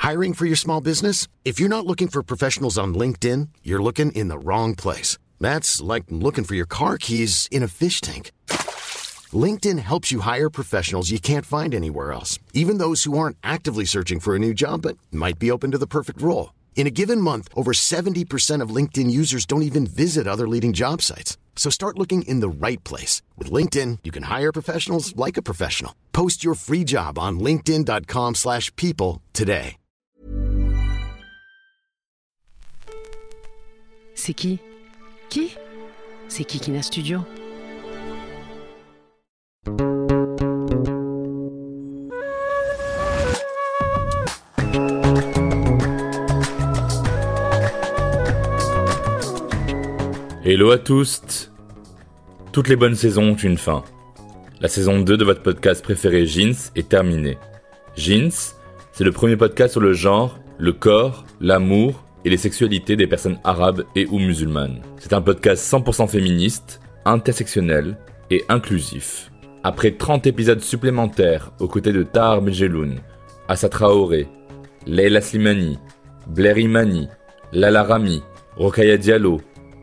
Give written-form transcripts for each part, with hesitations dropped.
Hiring for your small business? If you're not looking for professionals on LinkedIn, you're looking in the wrong place. That's like looking for your car keys in a fish tank. LinkedIn helps you hire professionals you can't find anywhere else, even those who aren't actively searching for a new job but might be open to the perfect role. In a given month, over 70% of LinkedIn users don't even visit other leading job sites. So start looking in the right place. With LinkedIn, you can hire professionals like a professional. Post your free job on linkedin.com/people today. C'est qui? Qui? C'est Kikina Studio. Hello à tous. Toutes les bonnes saisons ont une fin. La saison 2 de votre podcast préféré Jeans est terminée. Jeans, c'est le premier podcast sur le genre, le corps, l'amour et les sexualités des personnes arabes et ou musulmanes. C'est un podcast 100% féministe, intersectionnel et inclusif. Après 30 épisodes supplémentaires aux côtés de Tahar Medjeloun, Assa Traoré, Leila Slimani, Blair Imani, Lala Rami, Rokhaya Diallo,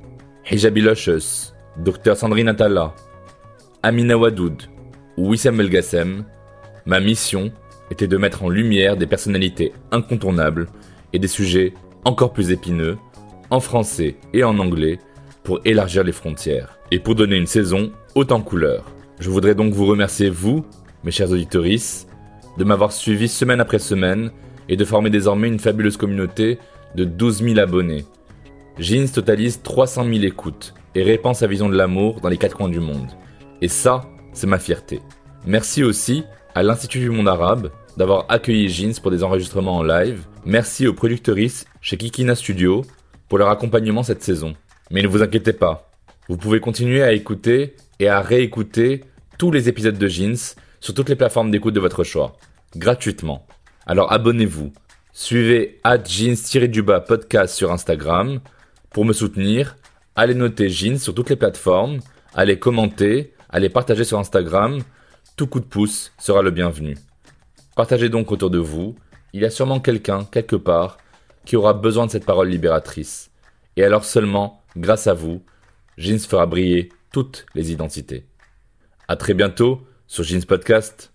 Hijabi Luscious, Dr Sandrine Atala, Amina Wadoud ou Wissam Belgassem, ma mission était de mettre en lumière des personnalités incontournables et des sujets encore plus épineux, en français et en anglais, pour élargir les frontières et pour donner une saison haute en couleurs. Je voudrais donc vous remercier, vous, mes chers auditorices, de m'avoir suivi semaine après semaine et de former désormais une fabuleuse communauté de 12 000 abonnés. Jeans totalise 300 000 écoutes et répand sa vision de l'amour dans les 4 coins du monde. Et ça, c'est ma fierté. Merci aussi à l'Institut du Monde Arabe d'avoir accueilli Jeans pour des enregistrements en live. Merci aux productrices chez Kikina Studio pour leur accompagnement cette saison. Mais ne vous inquiétez pas, vous pouvez continuer à écouter et à réécouter tous les épisodes de Jeans sur toutes les plateformes d'écoute de votre choix, gratuitement. Alors abonnez-vous, suivez @jeans_podcast sur Instagram. Pour me soutenir, allez noter Jeans sur toutes les plateformes, allez commenter, allez partager sur Instagram. Tout coup de pouce sera le bienvenu. Partagez donc autour de vous, il y a sûrement quelqu'un, quelque part, qui aura besoin de cette parole libératrice. Et alors seulement, grâce à vous, Jeans fera briller toutes les identités. À très bientôt sur Jeans Podcast.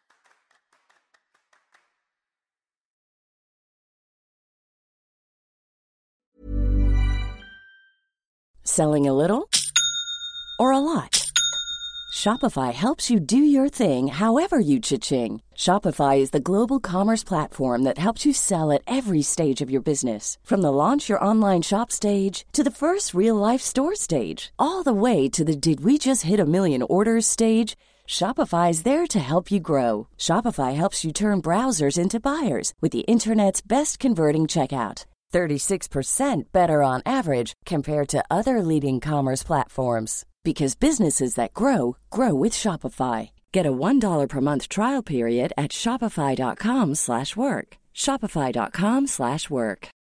Selling a little or a lot? Shopify helps you do your thing however you cha-ching. Shopify is the global commerce platform that helps you sell at every stage of your business. From the launch your online shop stage to the first real-life store stage, all the way to the did we just hit a million orders stage. Shopify is there to help you grow. Shopify helps you turn browsers into buyers with the internet's best converting checkout. 36% better on average compared to other leading commerce platforms. Because businesses that grow, grow with Shopify. Get a $1 per month trial period at shopify.com/work. Shopify.com/work.